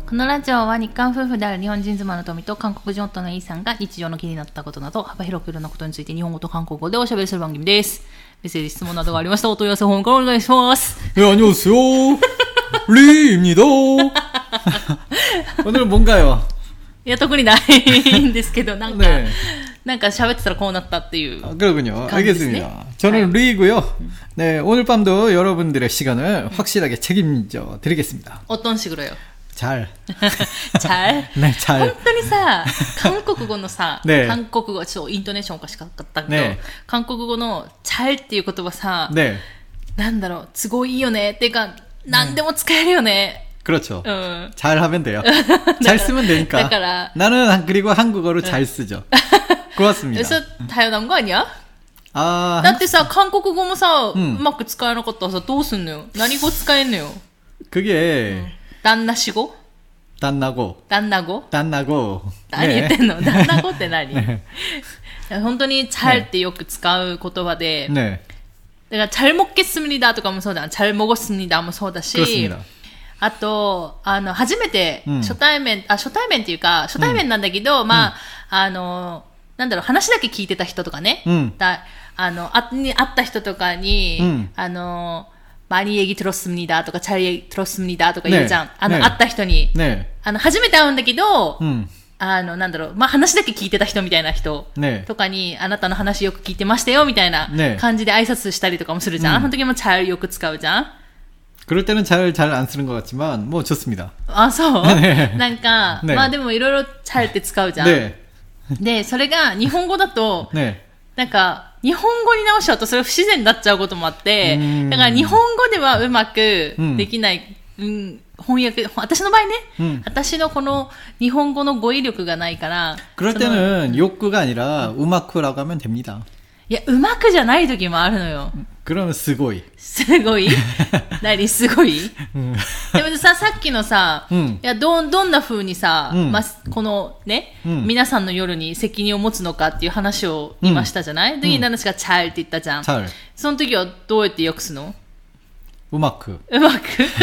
このラジオは日韓夫婦である日本人妻の富と韓国人夫のイさんが日常の気になったことなど幅広くいろんなことについて日本語と韓国語でおしゃべりする番組です。メッセージ質問などがありましたらお問い合わせフォームからお願いします。 안녕하세요. 리입니다. 오늘은 뭔가요? いや特にないんですけどなんか、ね、なんか喋ってたらこうなったっていう 그렇군요. 알겠습니다. 저는 리이고요. 네, 오늘 밤도 여러분들의 시간을 확실하게 책임져 드리겠습니다. 어떤 식으로요? 잘. 잘? 네, 잘. 本当にさ、韓国語のさ、 ね、 韓国語、ちょっとイントネーションおかしかったけど、 ね、 韓国語の잘っていう言葉さ、 ね、 なんだろう、都合いいよね。っていうか、何でも使えるよね。 그렇죠. 잘 하면 돼요. 잘 쓰면 되니까. だから 나는 그리고 한국어를 잘 쓰죠. 고맙습니다. 그래서 당연한 거 아니야? 아, だってさ、韓国語もさ、うまく使えなかったらさ、どうすんのよ。何語使えんのよ。 그게 旦那し語 단나고. 旦那語 단나고. 何言ってんの旦那語って何本当に잘ってよく使う言葉で、 네. だから잘 먹겠습니다とかもそうだ、잘 먹었습니다もそうだし、 그렇습니다. あと、初めて初対面っていうか、初対面なんだけど、まあ、なんだろう、話だけ聞いてた人とかね、会った人とかに、많이 얘기 들었습니다とか잘 얘기 들었습니다とか言うじゃん。会った人に。初めて会うんだけど、なんだろう、まあ、話だけ聞いてた人みたいな人とかに、あなたの話よく聞いてましたよみたいな感じで挨拶したりとかもするじゃん。その時も잘よく使うじゃん。 그럴 때는 잘 안 쓰는 것 같지만 뭐 좋습니다. あ、そうね、 なんか、 ね、 まあでもいろいろ잘って使うじゃん。 ね、 で、それが日本語だと、 ね、 なんか、日本語に直しちゃうとそれ不自然になっちゃうこともあって、だから日本語ではうまくできない、翻訳、私の場合ね、私のこの日本語の語彙力がないから。 그럴 때는 욕구가 아니라 우마쿠라고 하면 됩니다. いや、うまくじゃない時もあるのよ。 그러면 스고이. すごい何すごいでもさ、さっきのさ、いや、どんな風にさ、まあ、このね、皆さんの夜に責任を持つのかっていう話を言いましたじゃない？で、何ですか、잘って言ったじゃん。その時はどうやって訳すの？ うまく。 うまく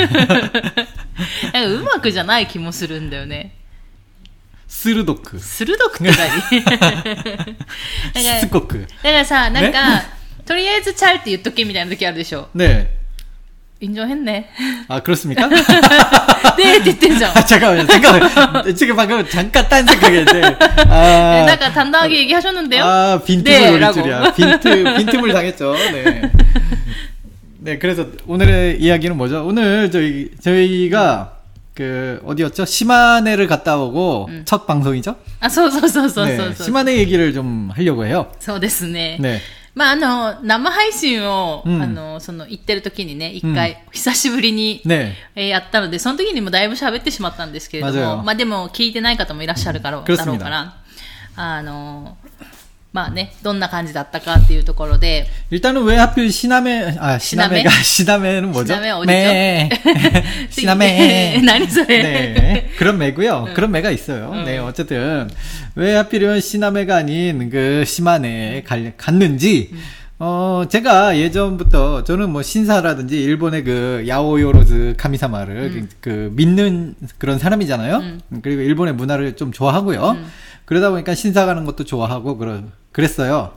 なんかうまくじゃない気もするんだよね。 鋭く。 鋭くって何？ しつこく。 だからさ、なんか、とりあえず잘って言っとけみたいな時あるでしょ。 ね。 인정했네. 아, 그렇습니까? 네, 됐대죠. 아, 잠깐만요. 지금 방금 잠깐 딴 생각했는데. 아, 약간 단단하게 얘기하셨는데요? 아, 빈틈을 올릴 줄이야. 빈틈을 당했죠. 네. 네, 그래서 오늘의 이야기는 뭐죠? 오늘 저희가 그 어디였죠? 시마네를 갔다 오고 첫 방송이죠? 아,そう。 네, 시마네 얘기를 좀 하려고 해요. そうですね。 네. まあ、生配信を、行ってる時にね、一回、久しぶりに、やったので、その時にもだいぶ喋ってしまったんですけれども、まあでも、聞いてない方もいらっしゃるから、だろうから、まあね、どんな感じだったかっていうところで。 일단은 왜 하필 시나메는 뭐죠? 시나메 어디죠? 네. 시나메. 何それ? 네. 그런 매고요. 그런 매가 있어요. 네, 어쨌든 왜 하필이면 시나메가 아닌 그 시마네에 갔는지 제가 예전부터 저는 뭐 신사라든지 일본의 그 야오요로즈 카미사마를 그 믿는 그런 사람이잖아요. 그리고 일본의 문화를 좀 좋아하고요. 그러다 보니까 신사 가는 것도 좋아하고 그랬어요.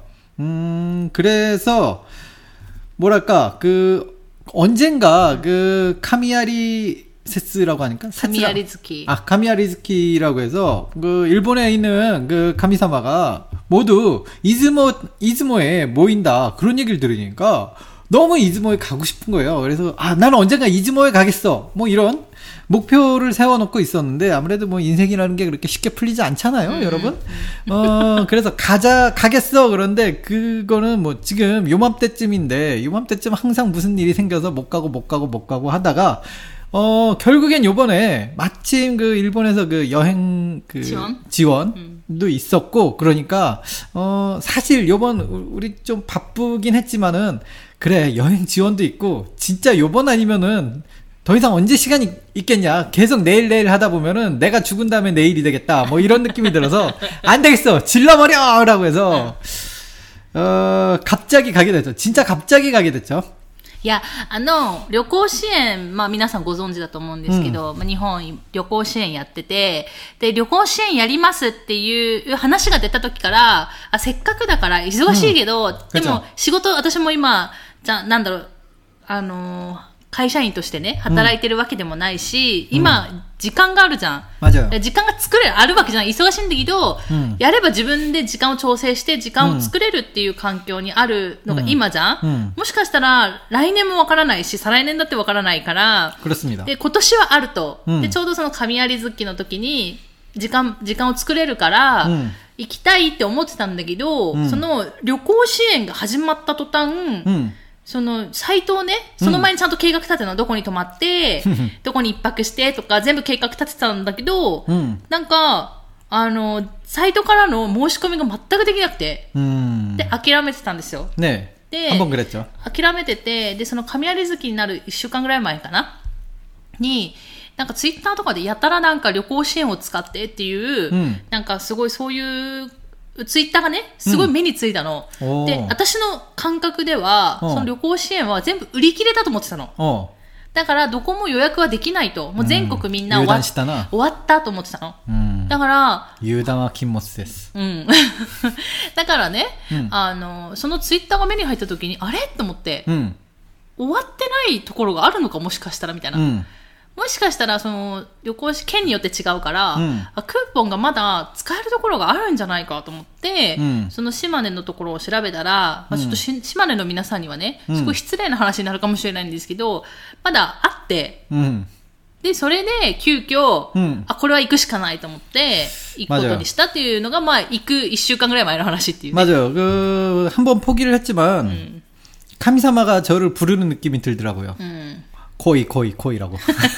그래서 뭐랄까 그 언젠가 그 카미야리 세스라고 하니까 카미야리즈키. 아, 카미야리즈키라고 해서 그 일본에 있는 그 카미사마가 모두 이즈모에 모인다. 그런 얘기를 들으니까 너무 이즈모에 가고 싶은 거예요. 그래서 나는 언젠가 이즈모에 가겠어. 뭐 이런 목표를 세워놓고 있었는데 아무래도 뭐 인생이라는 게 그렇게 쉽게 풀리지 않잖아요, 여러분. 그래서 가겠어. 그런데 그거는 뭐 지금 요맘때쯤인데 요맘때쯤 항상 무슨 일이 생겨서 못 가고 하다가 결국엔 요번에 마침 그 일본에서 그 여행 그 지원도 있었고 그러니까 사실 요번 우리 좀 바쁘긴 했지만은 그래 여행 지원도 있고 진짜 요번 아니면은 더 이상 언제 시간이 있겠냐. 계속 내일 하다 보면은 내가 죽은 다음에 내일이 되겠다. 뭐 이런 느낌이 들어서 안 되겠어. 질러버려! 라고 해서 갑자기 가게 됐죠. 진짜 갑자기 가게 됐죠. いや、旅行支援、まあ皆さんご存知だと思うんですけど、まあ日本旅行支援やってて、で、旅行支援やりますっていう話が出た時から、せっかくだから忙しいけど、でも仕事、私も今、なんだろう、会社員としてね、働いてるわけでもないし、今、時間があるじゃん。時間があるわけじゃん。忙しいんだけど、やれば自分で時間を調整して時間を作れるっていう環境にあるのが今じゃん。もしかしたら、来年もわからないし、再来年だってわからないから、で、今年はあると。で、ちょうどその神有月の時に、時間を作れるから、行きたいって思ってたんだけど、その旅行支援が始まった途端、その、サイトをね、その前にちゃんと計画立てたの、どこに泊まって、どこに一泊してとか、全部計画立てたんだけど、なんか、サイトからの申し込みが全くできなくて、で、諦めてたんですよ。 ねで、諦めてて、で、その神有月になる1週間ぐらい前かなに、なんかツイッターとかでやたらなんか旅行支援を使ってっていう、なんかすごいそういうツイッターがね、すごい目についたの。で、私の感覚では、その旅行支援は全部売り切れたと思ってたの。だから、どこも予約はできないと。もう全国みんな終わったと思ってたの。だから、 油断は禁物です。 だからね、そのツイッターが目に入った時に、あれと思って、終わってないところがあるのか、もしかしたらみたいな。もしかしたら、その、旅行支県によって違うから、クーポンがまだ使えるところがあるんじゃないかと思って、その島根のところを調べたら、ちょっと島根の皆さんにはね、すごい失礼な話になるかもしれないんですけど、まだあって、で、それで、急遽、これは行くしかないと思って、行くことにしたっていうのが、まあ、行く1週間ぐらい前の話っていう、ね。 맞아요. 한번 포기를 했지만, 카미사마가 저를 부르는 느낌이 들더라고요. 코이라고.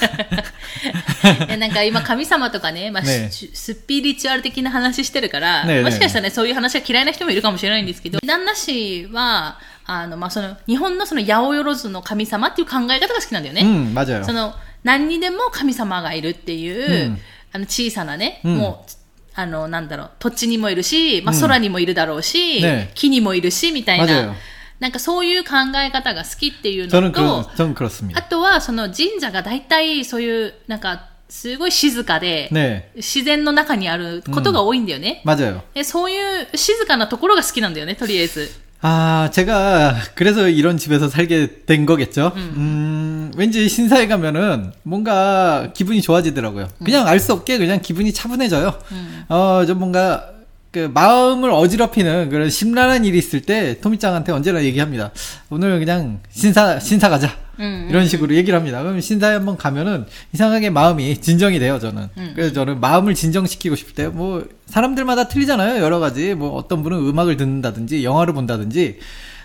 なんか今神様とかね、まあスピリチュアル的な話してるから、もしかしたらね、そういう話が嫌いな人もいるかもしれないんですけど、旦那氏は、まあその、日本のその八百万の神様っていう考え方が好きなんだよね。 맞아요. その、何にでも神様がいるっていう、小さなね、もう、なんだろう、土地にもいるし、まあ空にもいるだろうし、木にもいるし、みたいな。なんかそういう考え方が好きっていうのと、あとはその神社が大体そういう、なんかすごい静かで、自然の中にあることが多いんだよね。でそういう静かなところが好きなんだよね、とりあえず。 제가 그래서 이런 집에서 살게 된 거겠죠. 왠지 신사에 가면은 뭔가 기분이 좋아지더라고요. 그냥 알 수 없게 그냥 기분이 차분해져요. 좀 뭔가 그 마음을 어지럽히는 그런 심란한 일이 있을 때 토미짱한테 언제나 얘기합니다. 오늘 그냥 신사 가자. 이런 식으로 얘기를 합니다. 그럼 신사에 한번 가면은 이상하게 마음이 진정이 돼요, 저는. 그래서 저는 마음을 진정시키고 싶을 때 뭐 사람들마다 틀리잖아요. 여러 가지. 뭐 어떤 분은 음악을 듣는다든지 영화를 본다든지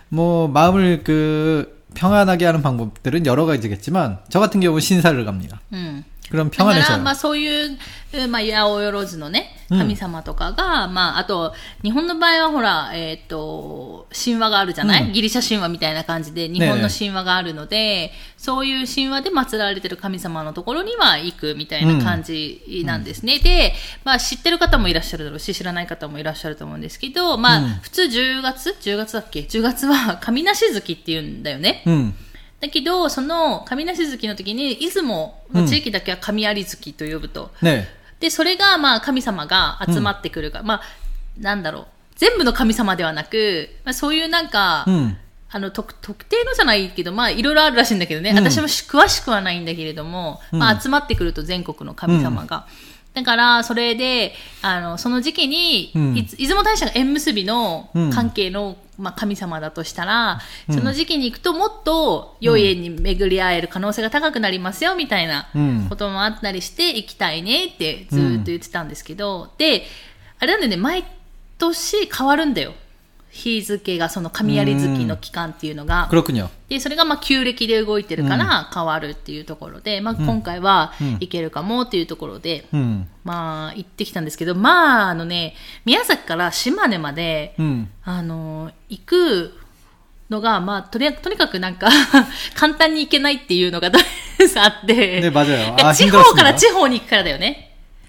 뭐 마음을 그 평안하게 하는 방법들은 여러 가지겠지만 저 같은 경우는 신사를 갑니다. 그럼 평안해져요. だから、まあそういう、まあ八百万のね、神様とかが、まああと、日本の場合はほら、神話があるじゃない、ギリシャ神話みたいな感じで、日本の神話があるので、そういう神話で祀られてる神様のところには行くみたいな感じなんですね。で、まあ知ってる方もいらっしゃるだろうし、知らない方もいらっしゃると思うんですけど、まあ、普通10月だっけ ?10 月は神無し月って言うんだよね。だけど、その神無し月の時に、出雲の地域だけは神有月と呼ぶと。で、それが、まあ、神様が集まってくるから、まあ、なんだろう。全部の神様ではなく、まあ、そういうなんか、特定のじゃないけど、まあ、いろいろあるらしいんだけどね。私も詳しくはないんだけれども、まあ、集まってくると全国の神様が。だから、それで、その時期に、出雲大社が縁結びの関係の、まあ、神様だとしたら、その時期に行くともっと良い縁に巡り合える可能性が高くなりますよ、みたいなこともあったりして行きたいねってずっと言ってたんですけど、で、あれなんでね、毎年変わるんだよ。日付がその神有月の期間っていうのが。で、それがまあ旧暦で動いてるから変わるっていうところで、まあ今回は行けるかもっていうところで、まあ行ってきたんですけど、まあ宮崎から島根まで、行くのが、まあとにかくなんか簡単に行けないっていうのがあって、地方から地方に行くからだよね。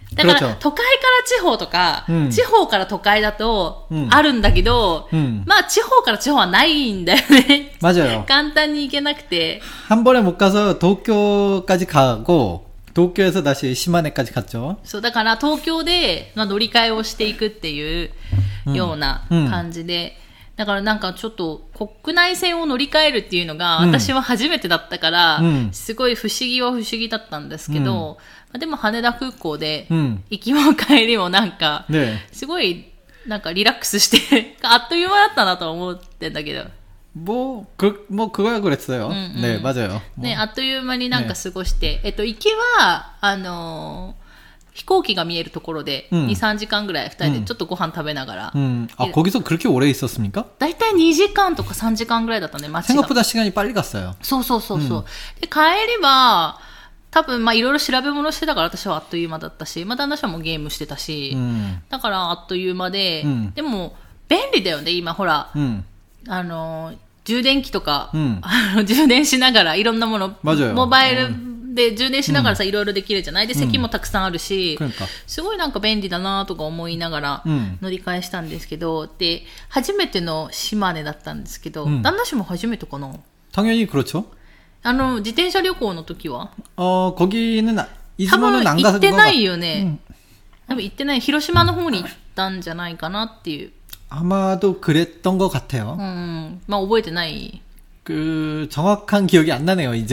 だから、都会から地方とか、地方から都会だと、あるんだけど、まあ、地方から地方はないんだよね。 맞아요。 簡単に行けなくて。 한 번에 못 가서 도쿄까지 가고, 도쿄에서 다시 시마네까지 갔죠. そう、だから東京で、まあ、乗り換えをしていくっていうような感じで、だからなんかちょっと国内線を乗り換えるっていうのが私は初めてだったから、すごい不思議は不思議だったんですけど、でも羽田空港で行きも帰りもなんか、すごいなんかリラックスしてあっという間だったなと思ってんだけど。 그거야 그랬어요. 네, 맞아요. ね、あっという間になんか過ごして、行きは、飛行機が見えるところで、2、3時間ぐらい2人でちょっとご飯食べながら。 거기서 그렇게 오래 있었습니까? だいたい2時間とか3時間ぐらいだったね、街が。 생각보다 시간이 빨리 갔어요. そう。で、帰りは、多分、まあ、いろいろ調べ物してたから私はあっという間だったし、まあ、旦那さんもゲームしてたし、だからあっという間で、でも、便利だよね、今、ほら。充電器とか、充電しながらいろんなもの、モバイルで充電しながらさ、いろいろできるじゃないで、席もたくさんあるし、すごいなんか便利だなとか思いながら乗り換えしたんですけど、で、初めての島根だったんですけど、旦那氏も初めてかな？ 당연히 그렇죠. 自転車旅行の時は 거기는 多分行ってないよね。多分行ってない。広島の方に行ったんじゃないかなっていう。 아마도 그랬던 것 같아요. 막 覚えてない。 정확한 기억이 안 나네요, 이제.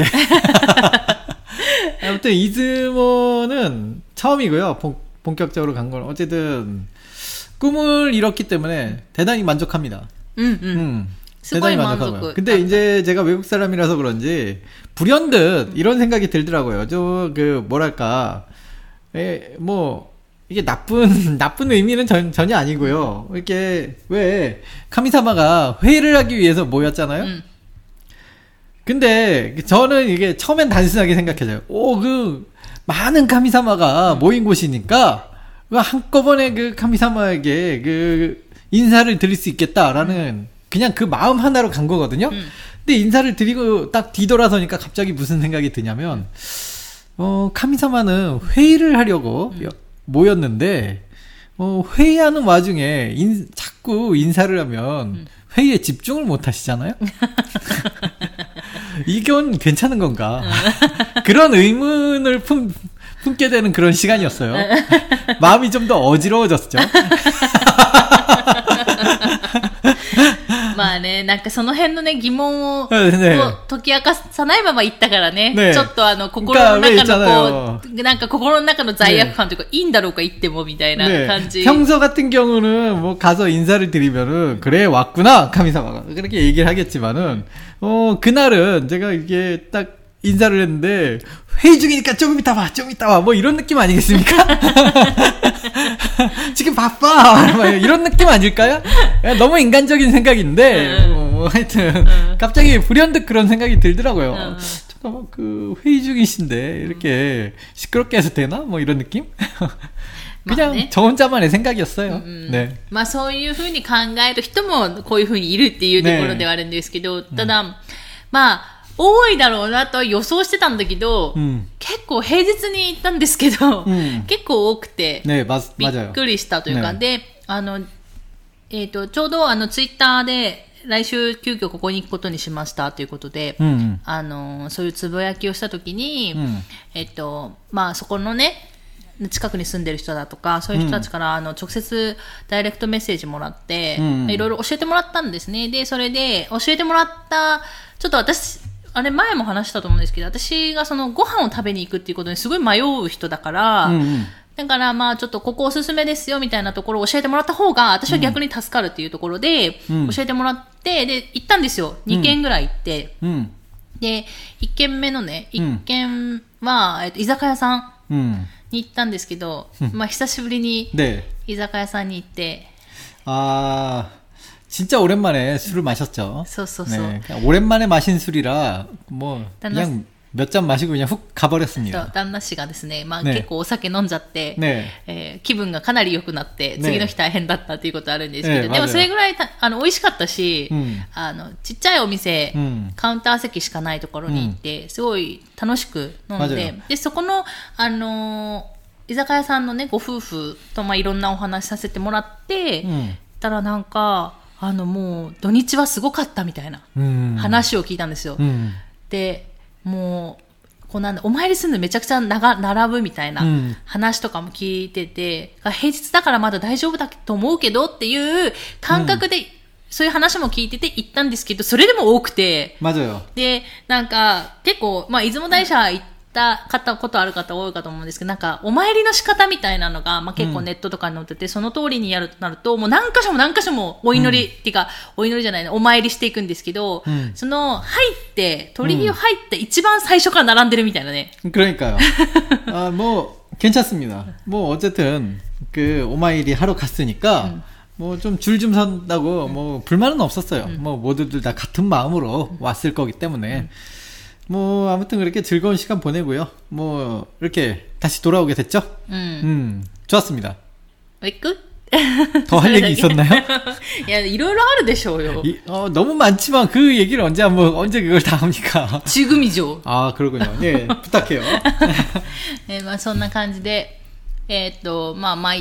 아무튼 이즈모는 처음이고요. 본격적으로 간 건 어쨌든 꿈을 이뤘기 때문에 대단히 만족합니다. 대단히 만족하고요. 근데 이제 제가 외국 사람이라서 그런지 불현듯 이런 생각이 들더라고요. 뭐랄까, 이게 나쁜 의미는 전혀 아니고요. 이렇게, 왜, 카미사마가 회의를 하기 위해서 모였잖아요? 근데, 저는 이게 처음엔 단순하게 생각해져요. 많은 카미사마가 모인 곳이니까, 한꺼번에 카미사마에게 인사를 드릴 수 있겠다라는, 그냥 그 마음 하나로 간 거거든요? 근데 인사를 드리고 딱 뒤돌아서니까 갑자기 무슨 생각이 드냐면, 카미사마는 회의를 하려고, 모였는데 회의하는 와중에 자꾸 인사를 하면 회의에 집중을 못 하시잖아요. 이건 괜찮은 건가? 그런 의문을 품게 되는 그런 시간이었어요. 마음이 좀 더 어지러워졌죠. まあね、なんかその辺のね、疑問を解き明かさないまま行ったからね。ちょっと心の中のなんか心の中の罪悪感というか、いいんだろうか行ってもみたいな感じ。 평소 같은 경우는 가서 인사를 드리면은, 그래, 왔구나, 카미사마가. 그렇게 얘기를 하겠지만은, 그날은 제가 이게 딱 인사를 했는데, 회의 중이니까 좀 이따 와. 뭐 이런 느낌 아니겠습니까? 지금 바빠. 이런 느낌 아닐까요? 너무 인간적인 생각인데, 하여튼, 갑자기 불현듯 그런 생각이 들더라고요. 잠깐만, 회의 중이신데, 이렇게 시끄럽게 해서 되나? 뭐 이런 느낌? 그냥 저 혼자만의 생각이었어요. 네. まあそういう風に考える人もこういう風にいるっていうところではあるんですけど、ただ、まあ、多いだろうなとは予想してたんだけど、結構平日に行ったんですけど、結構多くて、びっくりしたというか、で、ちょうどツイッターで、来週急遽ここに行くことにしましたということで、そういうつぶやきをしたときに、まあそこのね、近くに住んでる人だとか、そういう人たちから直接ダイレクトメッセージもらって、いろいろ教えてもらったんですね。で、それで教えてもらった、ちょっと私、あれ前も話したと思うんですけど、私がそのご飯を食べに行くっていうことにすごい迷う人だから、だからまあちょっとここおすすめですよみたいなところを教えてもらった方が私は逆に助かるっていうところで教えてもらって、で行ったんですよ。2軒ぐらい行って、で1軒目のね、1軒は、居酒屋さんに行ったんですけど、まあ久しぶりに居酒屋さんに行って、 진짜 오랜만에 술을 마셨죠. 네, 오랜만에 마신 술이라 뭐 그냥 몇 잔 마시고 그냥 훅 가버렸습니다. 旦那氏がですね、まあ結構お酒飲んじゃって、気分がかなり良くなって、次の日大変だったっていうことあるんですけど、でもそれぐらい美味しかったし、ちっちゃいお店、カウンター席しかないところに行って、すごい楽しく飲んで、で、そこの、 居酒屋さんのね、ご夫婦と、いろんなお話させてもらって、たらなんか、もう、土日はすごかったみたいな話を聞いたんですよ。で、もう、お参りするのめちゃくちゃ並ぶみたいな話とかも聞いてて、平日だからまだ大丈夫だと思うけどっていう感覚で、そういう話も聞いてて行ったんですけど、それでも多くて。 맞아요。 で、なんか、結構、出雲大社行ったことある方多いかと思うんですけど、なんか、お参りの仕方みたいなのが、結構ネットとかに載ってて、その通りにやるとなると、もう何箇所もお祈り、っていうか、お祈りじゃないね、お参りしていくんですけど、その、鳥居を入って一番最初から並んでるみたいなね。 그러니까요。괜찮습니다。어쨌든、오마이리 하러 갔으니까、좀 줄 좀 선다고 불만은 없었어요. 모두들 다 같은 마음으로 왔을 거기 때문에 아무튼 그렇게 즐거운 시간 보내고요. 이렇게 다시 돌아오게 됐죠. 좋았습니다. 왜 끝? 더 할 얘기 있었나요? 야, いろいろあるでしょうよ. 너무 많지만 그 얘기를 언제 그걸 다 합니까? 지금이죠. 아, 그러군요. 예, 부탁해요. そんな感じで参って。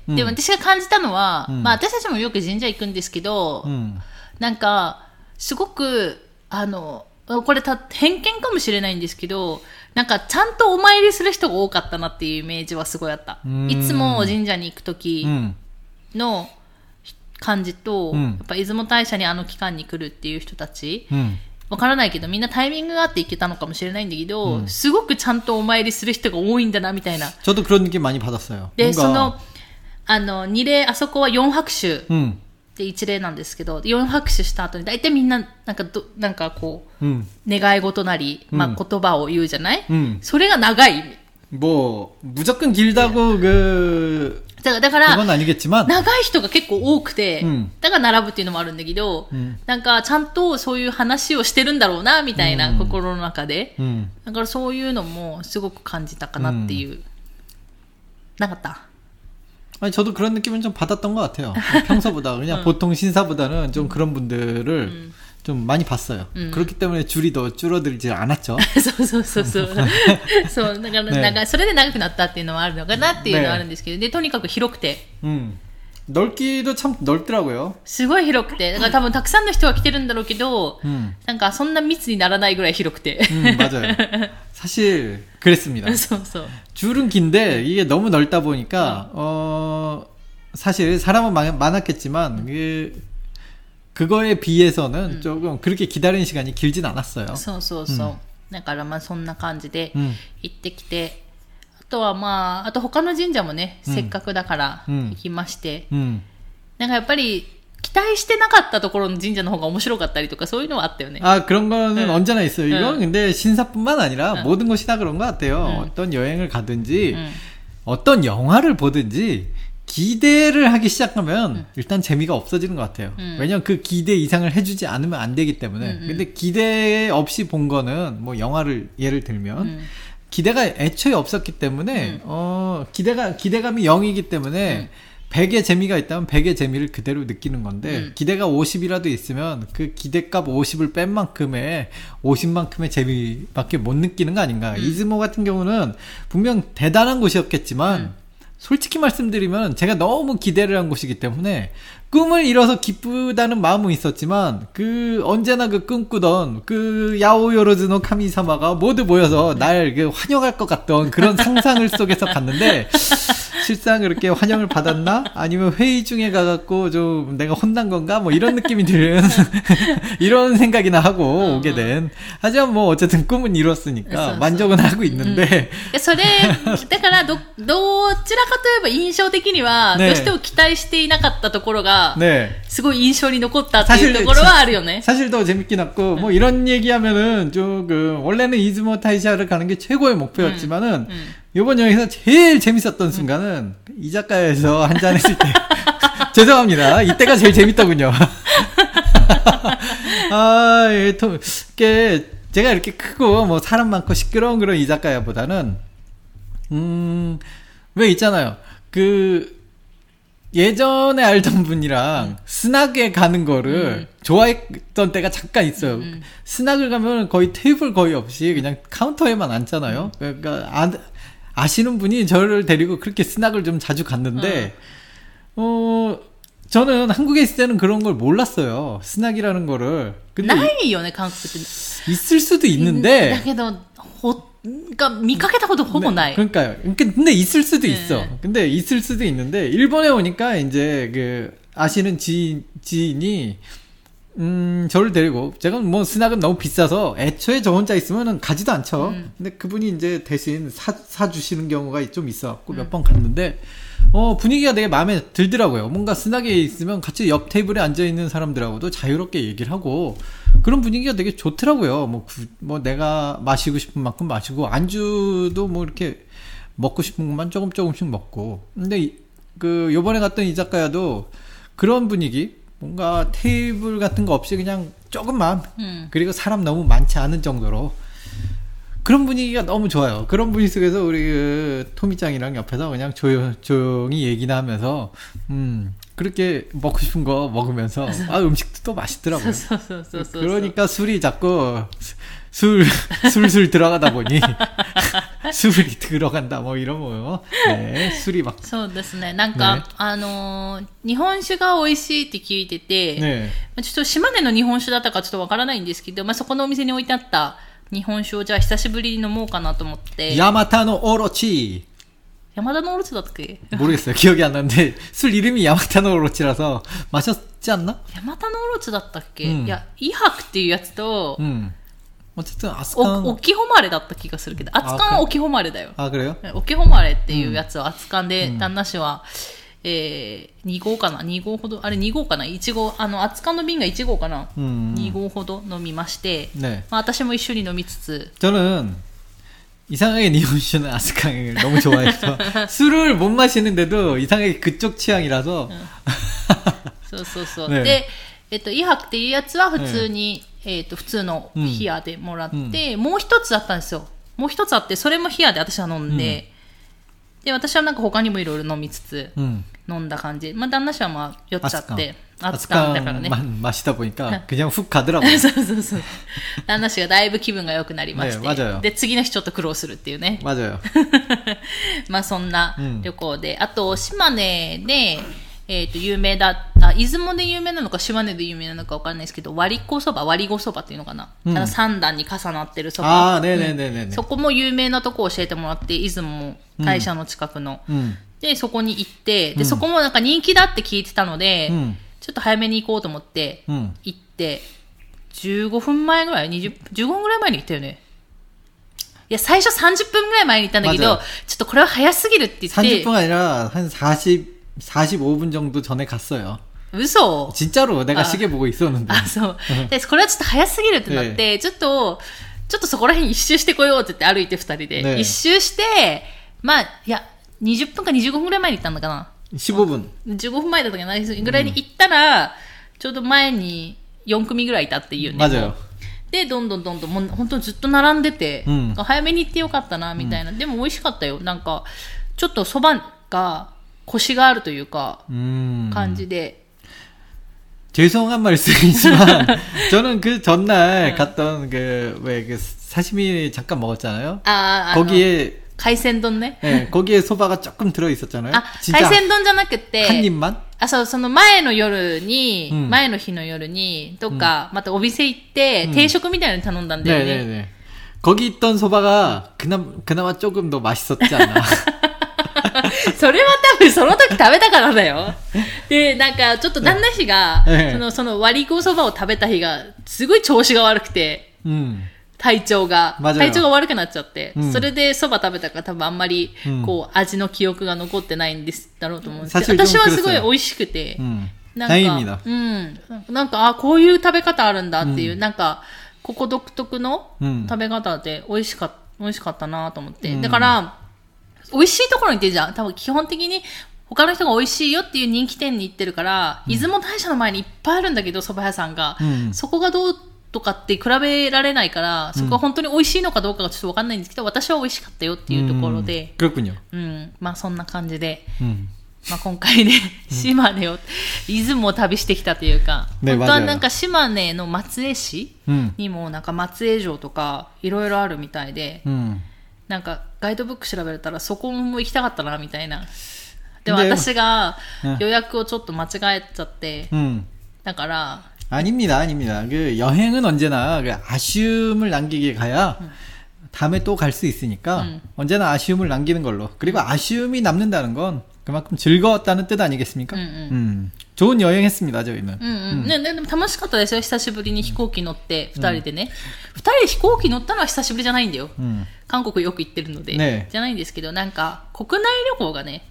で、私が感じたのは、私たちもよく神社行くんですけど、なんか、すごく、これ偏見かもしれないんですけど、なんか、ちゃんとお参りする人が多かったなっていうイメージはすごいあった。いつも神社に行くときの感じと、やっぱ出雲大社に期間に来るっていう人たち、わからないけど、みんなタイミングがあって行けたのかもしれないんだけど、すごくちゃんとお参りする人が多いんだな、みたいな。 저도 그런 느낌 많이 받았어요. で、二礼、あそこは4拍手で一礼なんですけど、4拍手した後に、だいたいみんな、なんかこう、願い事なり、言葉を言うじゃない、それが長い。 무조건 길다고 だから、 長い人が結構多くて、だから並ぶっていうのもあるんだけど、なんかちゃんとそういう話をしてるんだろうな、みたいな心の中で。だからそういうのもすごく感じたかなっていう。なかった？ 아니, 저도 그런 느낌은 좀 받았던 것 같아요. 평소보다. 그냥 보통 신사보다는 좀 그런 분들을 좀 많이 봤어요. 그렇기 때문에 줄이 더 줄어들지 않았죠. そう、だから、それで長くなったっていうのはあるのかなっていうのはあるんですけど、で、とにかく広くて。 넓기도 참 넓더라고요. すごい広くて。だから多分たくさんの人が来てるんだろうけど、なんかそんな密にならないぐらい広くて。 맞아요. 사실 그랬습니다. 줄은 긴데 이게 너무 넓다 보니까 사실 사람은 많았겠지만 그거에 비해서는 조금 그렇게 기다리는 시간이 길진 않았어요. だからそんな感じで行ってきて、あとはあと他の神社もね、せっかくだから行きまして、なんかやっぱり期待してなかったところの神社の方が面白かったりとかそういうのはあったよね。 아, 그런 거는 언제나 있어요. 이건 근데 신사뿐만 아니라 모든 곳이 다 그런 것 같아요. 어떤 여행을 가든지 어떤 영화를 보든지 기대를 하기 시작하면 일단 재미가 없어지는 것 같아요. 왜냐면 그 기대 이상을 해주지 않으면 안 되기 때문에. 근데 기대 없이 본 거는 뭐 영화를 예를 들면 기대가 애초에 없었기 때문에 기대감이 0이기 때문에 100의 재미가 있다면 100의 재미를 그대로 느끼는 건데 기대가 50이라도 있으면 그 기대값 50을 뺀 만큼의 50만큼의 재미밖에 못 느끼는 거 아닌가. 이즈모 같은 경우는 분명 대단한 곳이었겠지만 솔직히 말씀드리면 제가 너무 기대를 한 곳이기 때문에 꿈을 이뤄서 기쁘다는 마음은 있었지만 언제나 꿈꾸던 야오요로즈노 카미사마가 모두 모여서 날 환영할 것 같던 그런 상상을 속에서 갔는데 실상 그렇게 환영을 받았나? 아니면 회의 중에 가갖고 좀 내가 혼난 건가? 뭐 이런 느낌이 드는 이런 생각이나 하고 오게 된. 하지만 뭐 어쨌든 꿈은 이뤘으니까 만족은 하고 있는데. それだからどちらかといえば印象的にはどうしても期待していなかったところがすごい印象に残ったっていうところはあるよね. 사실 더 재밌긴 했고 뭐 이런 얘기하면은 조금 원래는 이즈모 타이샤를 가는 게 최고의 목표였지만은 이번 여행에서 제일 재밌었던 순간은 이자카야에서 한잔 했을 때 죄송합니다. 이때가 제일 재밌더군요. 제가 이렇게 크고 뭐 사람 많고 시끄러운 그런 이자카야보다는 왜 있잖아요. 예전에 알던 분이랑 스낙에 가는 거를 좋아했던 때가 잠깐 있어요. 스낙을 가면 거의 테이블 거의 없이 그냥 카운터에만 앉잖아요. 그러니까 아시는 분이 저를 데리고 그렇게 스낙을 좀 자주 갔는데, 저는 한국에 있을 때는 그런 걸 몰랐어요. 스낙이라는 거를. 근데 ないよね, 한국에. 있을 수도 있는데. だけど, 그러니까 見かけたことほぼない. 그러니까요. 근데 있을 수도 있어. 근데 있을 수도 있는데, 일본에 오니까 이제 아시는 지인이, 저를 데리고, 제가 뭐 스낙은 너무 비싸서 애초에 저 혼자 있으면은 가지도 않죠. 근데 그분이 이제 대신 사주시는 경우가 좀 있어갖고 몇 번 갔는데, 분위기가 되게 마음에 들더라고요. 뭔가 스낙에 있으면 같이 옆 테이블에 앉아있는 사람들하고도 자유롭게 얘기를 하고, 그런 분위기가 되게 좋더라고요. 뭐 내가 마시고 싶은 만큼 마시고, 안주도 뭐 이렇게 먹고 싶은 것만 조금씩 먹고. 근데 요번에 갔던 이자카야도 그런 분위기, 뭔가 테이블 같은 거 없이 그냥 조금만, 그리고 사람 너무 많지 않은 정도로, 그런 분위기가 너무 좋아요. 그런 분위기 속에서 우리 토미짱이랑 옆에서 그냥 조용히 얘기나 하면서 그렇게 먹고 싶은 거 먹으면서 음식도 또 맛있더라고요. 그러니까 술이 자꾸 술술 들어가다 보니 술이 들어간다 뭐 이런 거요. 네, 술이 막. そうですね。なんか、日本酒が美味しいって聞いてて、 ね、 ちょっと島根の日本酒だったかちょっとわからないんですけど、そこのお店に置いてあった日本酒をじゃあ久しぶりに飲もうかなと思って。 ヤマタノオロチ。 ヤマタノオロチだったっけ? 모르겠어요. 기억이 안 나는데 술 이름이 야마타노 오로치라서 마셨지 않나? ヤマタノオロチだったっけ? いや、イハクっていうやつと、 어쨌든 아스칸 오키ホマレだった気がするけど、アツカンはオキホマレだよ。 あ、그래요? オキホマレっていうやつをアツカンで、旦那氏は、2号かな ?2 号ほど、あれ2号かな ?1 号、アツカンの瓶が1号かな、2号ほど飲みまして、네. 私も一緒に飲みつつ。 저는 이상하게 니혼슈는 아스칸을 너무 좋아해서 술을 못 마시는데도 이상하게 그쪽 취향이라서. そうそうそう。で、イハクっていうやつは普通に、普通のヒアでもらって、もう一つあったんですよ。もう一つあって、それもヒアで私は飲んで、で、私はなんか他にもいろいろ飲みつつ、飲んだ感じ。旦那氏は酔っちゃって、熱燗だからね。 마시다 보니까 그냥 훅 가더라고요. そうそうそう。旦那氏がだいぶ気分が良くなりまして。 맞아요. で、次の日ちょっと苦労するっていうね。 맞아요. そんな旅行で。あと、島根で、有名だった、出雲で有名なのか島根で有名なのかわかんないですけど、割り子そばっていうのかな、3段に重なってるそば。そこも有名なとこ教えてもらって、出雲大社の近くの。で、そこに行って、で、そこもなんか人気だって聞いてたので、ちょっと早めに行こうと思って、行って、15分前ぐらい ?15 分ぐらい前に行ったよね。いや、最初30分ぐらい前に行ったんだけど、ちょっとこれは早すぎるって言って。 30分아니라 한 45분 정도 전에 갔어요. 嘘? 진짜로 내가 시계 보고 있었는데. そう。で、これはちょっと早すぎるってなって、ちょっとそこら辺一周してこようって言って歩いて二人で。一周して、いや、20分か25分ぐらい前に行ったんだかな。 15分。 15分前だったかなぐらいに行ったら、ちょうど前に4組ぐらいいたっていうね。 맞아요。 で、どんどん、もう本当にずっと並んでて、早めに行ってよかったな、みたいな。でも美味しかったよ。なんか、ちょっと蕎麦が、コシがあるというか、感じで。 죄송한 말씀이지만 저는 그 전날 갔던 그 사시미 잠깐 먹었잖아요. 거기에 海鮮丼ね。 네, 거기에 소바가 조금 들어 있었잖아요. 海鮮丼じゃなくて、 한 입만? その前の夜に、前の日の夜に、とか、またお店行って、定食みたいなの頼んだんだよね。 네네네. 거기 있던 소바가 그나마 조금 더 맛있었지 않나. それは多分その時食べたからだよ。で、なんかちょっと旦那氏が、その割り子そばを食べた日が、すごい調子が悪くて、体調が悪くなっちゃって、それでそば食べたから多分あんまり、こう、味の記憶が残ってないんだろうと思うんですけど、私はすごい美味しくて、なんか、こういう食べ方あるんだっていう、なんか、ここ独特の食べ方で美味しかったなと思って。だから、美味しいところに行ってるじゃん。多分基本的に他の人が美味しいよっていう人気店に行ってるから、出雲大社の前にいっぱいあるんだけど、蕎麦屋さんが。そこがどうとかって比べられないから、そこが本当に美味しいのかどうかがちょっとわかんないんですけど、私は美味しかったよっていうところで。そんな感じで。今回ね、島根を、出雲を旅してきたというか、本当はなんか島根の松江市にもなんか松江城とかいろいろあるみたいで、 なんかガイドブック調べたらそこも行きたかったなみたいな。でも私が予約をちょっと間違えちゃって、だから 아닙니다, 아닙니다. 그 여행은 언제나 그 아쉬움을 남기게 가야 다음에 또 갈 수 있으니까 언제나 아쉬움을 남기는 걸로. 그리고 아쉬움이 남는다는 건 그만큼 즐거웠다는 뜻 아니겠습니까? 좋은 여행했습니다, 저희는. ね、でも楽しかったですよ。久しぶりに飛行機乗って2人でね。2人で飛行機乗ったのは久しぶりじゃないんだよ。韓国よく行ってるので、ね、じゃないんですけど、なんか国内旅行がね。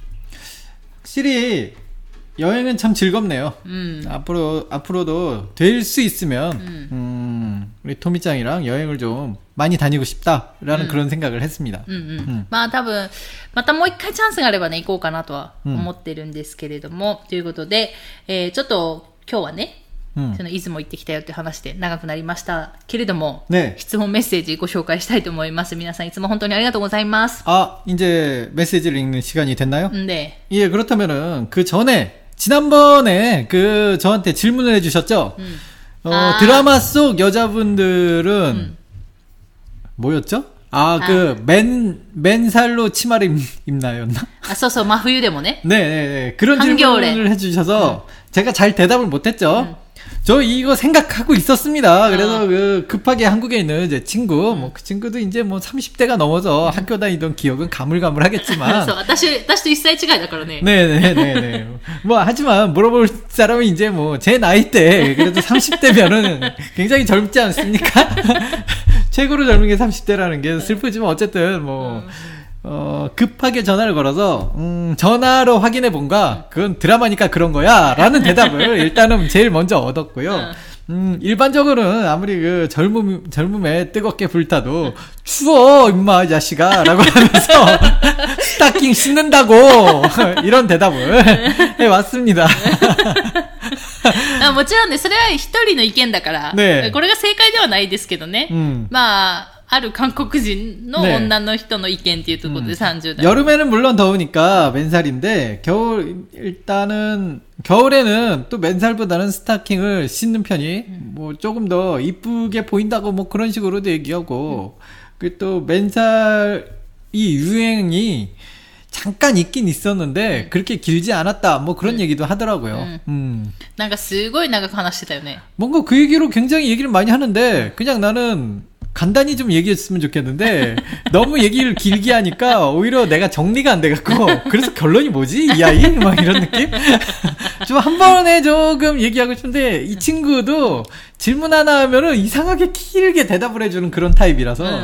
확실히 여행은 참 즐겁네요. 앞으로도 될 수 있으면 우리 토미짱이랑 여행을 좀 많이 다니고 싶다라는 그런 생각을 했습니다. まあ多分またもう一回チャンスがあればね行こうかなとは思ってるんですけれども、ということで、ちょっと今日はね、その出雲行ってきたよって話で長くなりましたけれども、ね、質問メッセージご紹介したいと思います。皆さんいつも本当にありがとうございます。 아, 이제 메시지를 읽는 시간이 됐나요? 네. 예, 그렇다면은 그 전에 지난번에 그 저한테 질문을 해주셨죠. 드라마 속 여자분들은 뭐였죠? 그 맨살로 치마를 입나였나? 소소 마후유데모네. 네, 그런 질문을 해주셔서 제가 잘 대답을 못했죠. 저 이거 생각하고 있었습니다. 그래서 그 급하게 한국에 있는 제 친구, 뭐 그 친구도 이제 뭐 30대가 넘어서 학교 다니던 기억은 가물가물하겠지만. 私と1歳違いだからね. 네네네네. 뭐 하지만 물어볼 사람은 이제 뭐 제 나이 때 그래도 30대면은 굉장히 젊지 않습니까? 최고로 젊은 게 30대라는 게 슬프지만 어쨌든 뭐. 급하게 전화를 걸어서, 전화로 확인해 본가? 그건 드라마니까 그런 거야. 라는 대답을 일단은 제일 먼저 얻었고요. 일반적으로는 아무리 그 젊음에 뜨겁게 불타도, 추워, 임마, 이 자식아. 라고 하면서, 스타킹 신는다고, 이런 대답을 해왔습니다. もちろんね、それは一人の意見だから、ね、これが正解ではないですけどね。まあ、ある韓国人の女の人の意見っていうところで30代。 여름에는 물론 더우니까 맨살인데, 겨울에는 또 맨살보다는 스타킹을 신는 편이, 뭐 조금 더 이쁘게 보인다고 뭐 그런 식으로도 얘기하고, 그 또 맨살 이 유행이 잠깐 있긴 있었는데 그렇게 길지 않았다 뭐 그런 얘기도 하더라고요. なんかすごい長く話してたよね. 뭔가 그 얘기로 굉장히 얘기를 많이 하는데 그냥 나는 간단히 좀 얘기했으면 좋겠는데 너무 얘기를 길게 하니까 오히려 내가 정리가 안 돼갖고 그래서 결론이 뭐지 이 아이 막 이런 느낌. 좀 한 번에 조금 얘기하고 싶은데 이 친구도 질문 하나 하면은 이상하게 길게 대답을 해주는 그런 타입이라서.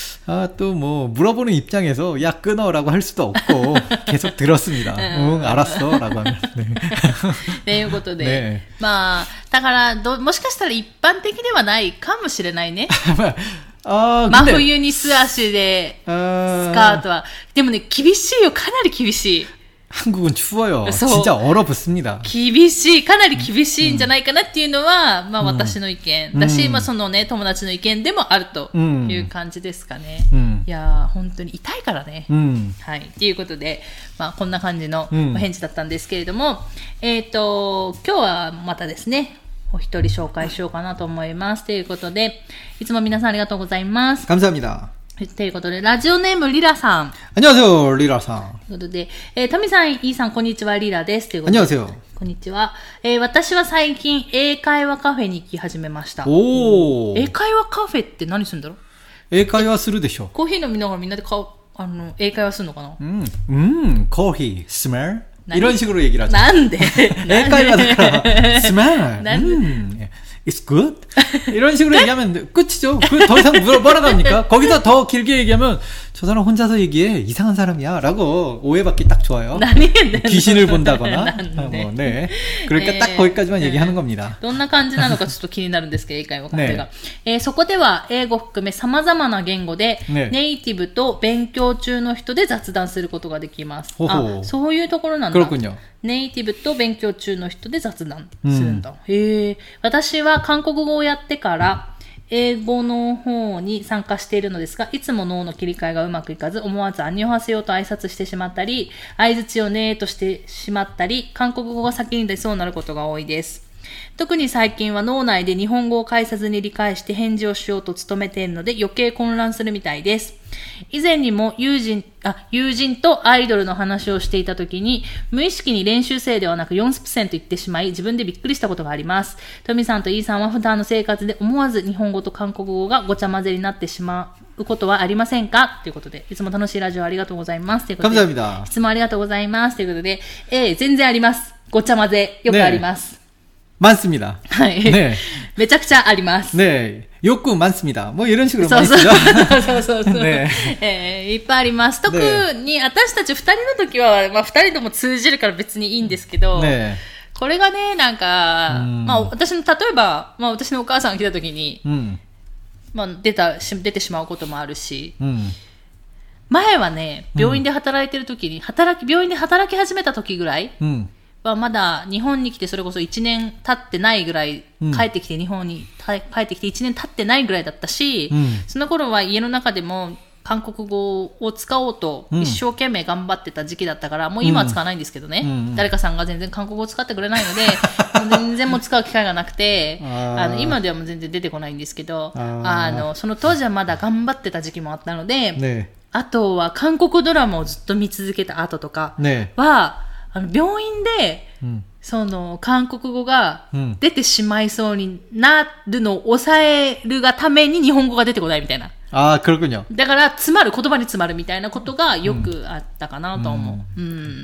또 뭐 물어보는 입장에서 야 끊어라고 할 수도 없고 계속 들었습니다. 응 알았어 라고 하면. 네. ということで、ね、まあだからもしかしたら一般的ではないかもしれないね。真冬に素足でスカートはでもね厳しいよかなり厳しい。 한국은 추워요. 진짜 얼어붙습니다. 厳しい、かなり厳しいんじゃないかなっていうのは、まあ私の意見だし、まあそのね、友達の意見でもあるという感じですかね。いやー、本当に痛いからね。はい。ということで、まあこんな感じのお返事だったんですけれども、今日はまたですね、お一人紹介しようかなと思います。ということで、いつも皆さんありがとうございます。 감사합니다. ということで、ラジオネームリラさん。 안녕하세요, 리라さん。 ということで、タミさん、イーさん、こんにちは、リラです。ということで、 안녕하세요。 こんにちは。私は最近、英会話カフェに行き始めました。 おー。 英会話カフェって何するんだろう？ 英会話するでしょ。 コーヒー飲みながらみんなで英会話するのかな？ コーヒー、smell? 이런 식으로 얘기를 하죠. なんで？ 英会話だから、smell? It's good? 이런 식으로 얘기하면 끝이죠. 더 이상 뭐라고 합니까? 거기서 더 길게 얘기하면 저 사람 혼자서 얘기해. 이상한 사람이야. 라고 오해받기 딱 좋아요. 귀신을 본다거나. 네. 그러니까 딱 거기까지만 얘기하는 겁니다. どんな感じなのかちょっと気になるんですけど、英会話カフェが。そこでは英語含め様々な言語で、ネイティブと勉強中の人で雑談することができます。あ、そういうところなんだ。 그렇군요. ネイティブと勉強中の人で雑談するんだ。私は韓国語をやってから英語の方に参加しているのですが、いつも脳の切り替えがうまくいかず、思わずアンニョハセヨと挨拶してしまったり、相槌をねーとしてしまったり、韓国語が先に出そうになることが多いです。 特に最近は脳内で日本語を返さずに理解して返事をしようと努めているので余計混乱するみたいです。以前にも友人とアイドルの話をしていた時に無意識に練習生ではなく 4% 言ってしまい自分でびっくりしたことがあります。トミさんとイーさんは普段の生活で思わず日本語と韓国語がごちゃ混ぜになってしまうことはありませんかということで、いつも楽しいラジオありがとうございます。ということで、質問ありがとうございます。ということで、全然あります。ごちゃ混ぜ、よくあります。 많습니다. 네. めちゃくちゃあります. 네. 욕구 많습니다. 뭐 이런 식으로 많이 쓰죠. そう。ね。いっぱいあります。特に私たち二人の時は、まあ二人とも通じるから別にいいんですけど、ね、これがね、なんか、まあ私の、例えば、まあ私のお母さんが来た時に、まあ出てしまうこともあるし、前はね、病院で働いてる時に、病院で働き始めた時ぐらい、はまだ日本に来てそれこそ1年経ってないぐらい、帰ってきて日本に帰ってきて1年経ってないぐらいだったし、その頃は家の中でも韓国語を使おうと一生懸命頑張ってた時期だったから、もう今は使わないんですけどね、誰かさんが全然韓国語を使ってくれないので全然もう使う機会がなくて今ではもう全然出てこないんですけど、その当時はまだ頑張ってた時期もあったので、ね、あとは韓国ドラマをずっと見続けた後とかは、ね、病院で、その韓国語が出てしまいそうになるのを抑えるがために日本語が出てこないみたいな。 그렇군요. だから言葉に詰まるみたいなことがよくあったかなと思う。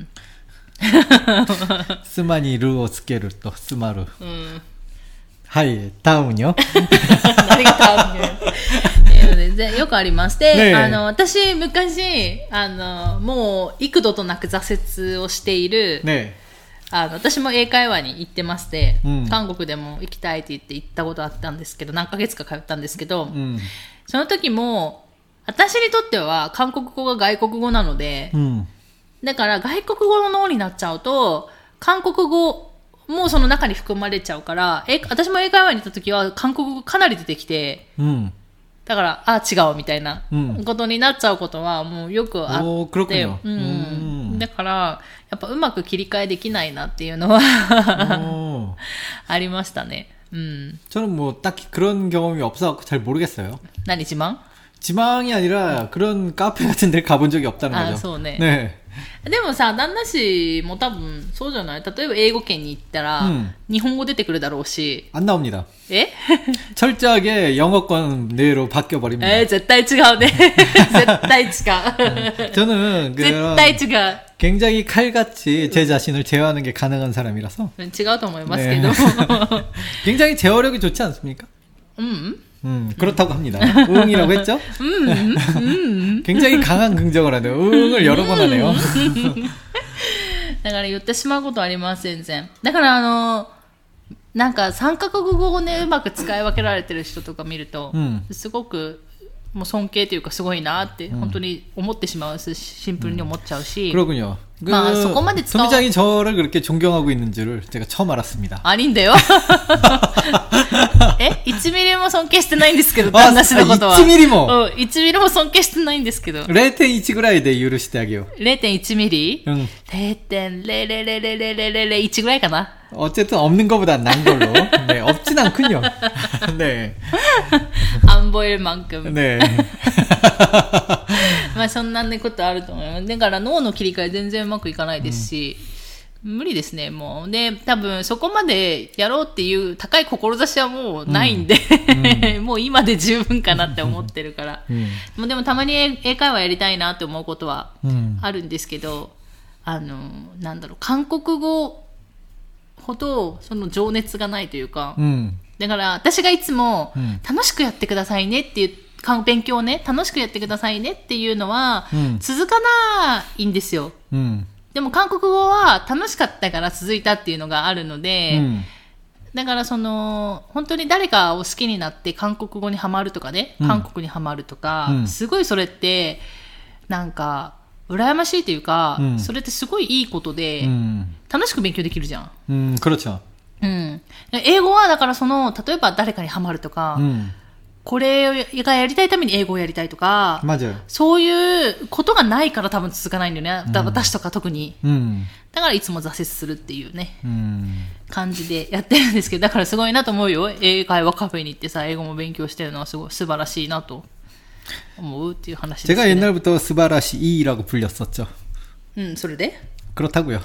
妻にルをつけると詰まる。はい、다음은요? 何が다음이요? よくありまして、ね、私昔もう幾度となく挫折をしている、ね、私も英会話に行ってまして、韓国でも行きたいって言って行ったことあったんですけど、何ヶ月か通ったんですけど、その時も私にとっては韓国語が外国語なので、だから外国語の脳になっちゃうと韓国語もうその中に含まれちゃうから、私も英会話に行った時は韓国語かなり出てきて、だから違うみたいなことになっちゃうことはもうよくあって、だからやっぱうまく切り替えできないなっていうのはありましたね。 저는 뭐 딱히 그런 경험이 없어서 잘 모르겠어요. 何지망? 지망이 아니라 그런 카페 같은 데 가본 적이 없다는 거죠. そうね。 네. でもさ、旦那氏も多分そうじゃない？例えば英語圏に行ったら、日本語出てくるだろうし。 안 나옵니다. 철저하게 영어권 내로 바뀌어 버립니다. 絶対違うね。絶対違う。 저는 絶対違う。 굉장히 칼같이 제 자신을 제어하는 게 가능한 사람이라서. 違うと思いますけど。 굉장히 제어력이 좋지 않습니까? 그렇다고 합니다. 응이라고 했죠? 굉장히 강한 긍정을 하네요. 응을 여러 번 하네요. だから言ってしまうことあります、全然。だからなんか三カ国語をね、うまく使い分けられてる人とか見ると、すごくもう尊敬というかすごいなって本当に思ってしまうし、シンプルに思っちゃうし。 그렇군요. 토미짱이 저를 그렇게 존경하고 있는 줄을 제가 처음 알았습니다. 아닌데요? 1ミリも尊敬してないんですけど、旦那氏のことは。 1ミリも 1ミリも尊敬してないんですけど。 0.1 ぐらいで許してあげよう。 0.1 ミリ 0.00001 ぐらいかな。 어쨌든 없는 것보다 난 걸로. 네, 없진 않군요. 네. 안 보일 만큼. 네. まあそんなことあると思います。だから脳の切り替え全然うまくいかないですし、無理ですね、もう。で、多分そこまでやろうっていう高い志はもうないんで、もう今で十分かなって思ってるから。もうでもたまに英会話やりたいなって思うことはあるんですけど、なんだろう、韓国語ほどその情熱がないというか、だから私がいつも楽しくやってくださいねっていう勉強をね、楽しくやってくださいねっていうのは続かないんですよ。でも韓国語は楽しかったから続いたっていうのがあるので、だから本当に誰かを好きになって韓国語にハマるとかね、韓国にハマるとか、すごいそれってなんか羨ましいというか、それってすごいいいことで、楽しく勉強できるじゃん。 그렇죠。 英語はだから例えば誰かにハマるとか、 これがやりたいために英語をやりたいとか、そういうことがないから多分続かないんだよね。私とか特に。だからいつも挫折するっていうね、感じでやってるんですけど、だからすごいなと思うよ。英会話カフェに行ってさ、英語も勉強してるのはすごい素晴らしいなと思うっていう話ですね。 제가옛날부터素晴らしい라고 불렸었죠. それで 그렇다고요.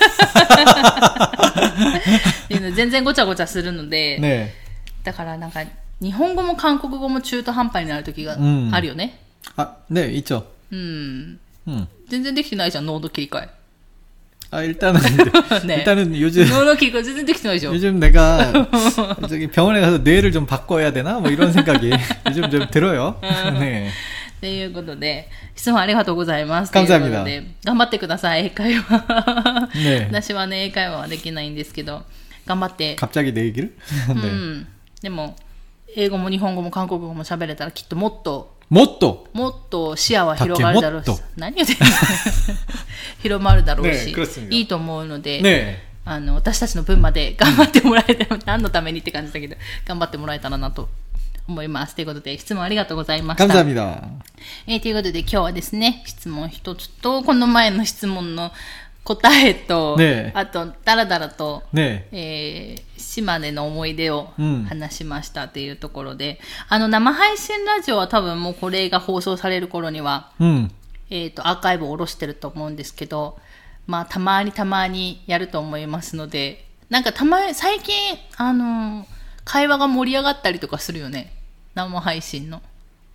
全然ごちゃごちゃするので、ね、だからなんか日本語も韓国語も中途半端になる時があるよね。 네, 있죠. 全然できてないじゃん、濃度切り替え。 일단은 네. 일단은 요즘 요즘 내가 저기 병원에 가서 뇌를 좀 바꿔야 되나 뭐 이런 생각이 요즘 좀 들어요. 네. ということで、質問ありがとうございます。 감사합니다. 頑張ってください、英会話。ね、私はね、英会話はできないんですけど、頑張って。 갑자기 내 얘기를? でも、英語も日本語も韓国語も喋れたらきっともっと視野は広がるだろうし、何言ってんの広まるだろうし、いいと思うので、私たちの分まで頑張ってもらえたら、何のためにって感じだけど、頑張ってもらえたらなと思います。ということで、質問ありがとうございました。 감사합니다。 ということで、今日はですね、質問一つと、この前の質問の答えと、あと、だらだらと、島根の思い出を話しましたというところで、生配信ラジオは多分もうこれが放送される頃には、アーカイブを下ろしてると思うんですけど、まあ、たまにやると思いますので、なんか最近、会話が盛り上がったりとかするよね。生配信の。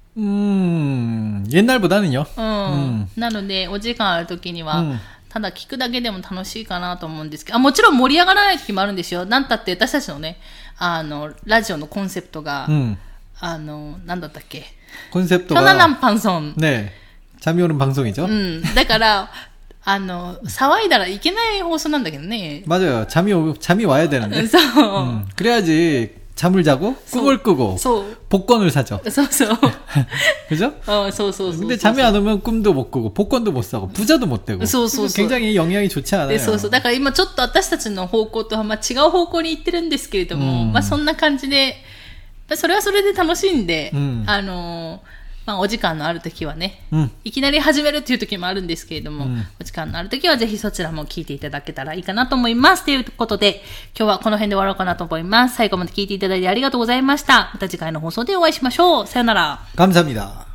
옛날보다는요。 なので、お時間ある時には、ただ聞くだけでも楽しいかなと思うんですけど、もちろん盛り上がらない時もあるんですよ。なんたって私たちのね、ラジオのコンセプトが、なんだったっけ。 コンセプトが。 편안한 방송。 ね。잠이 오는 방송이죠。 だから、騒いだらいけない放送なんだけどね。 맞아요。잠이 와야 되는데。そう。그래야지 잠을 자고 꿈을 꾸고 복권을 사죠. 그죠? 근데 잠이 안 오면 꿈도 못 꾸고 복권도 못 사고 부자도 못 되고. 굉장히 영향이 좋지 않아요. だから今ちょっと私たちの方向とは違う方向に行ってるんですけれども、そんな感じで、それはそれで楽しいんで、お時間のある時はね、いきなり始めるっていう時もあるんですけれども、お時間のある時はぜひそちらも聞いていただけたらいいかなと思います。ということで、今日はこの辺で終わろうかなと思います。最後まで聞いていただいてありがとうございました。また次回の放送でお会いしましょう。さよなら。 감사합니다。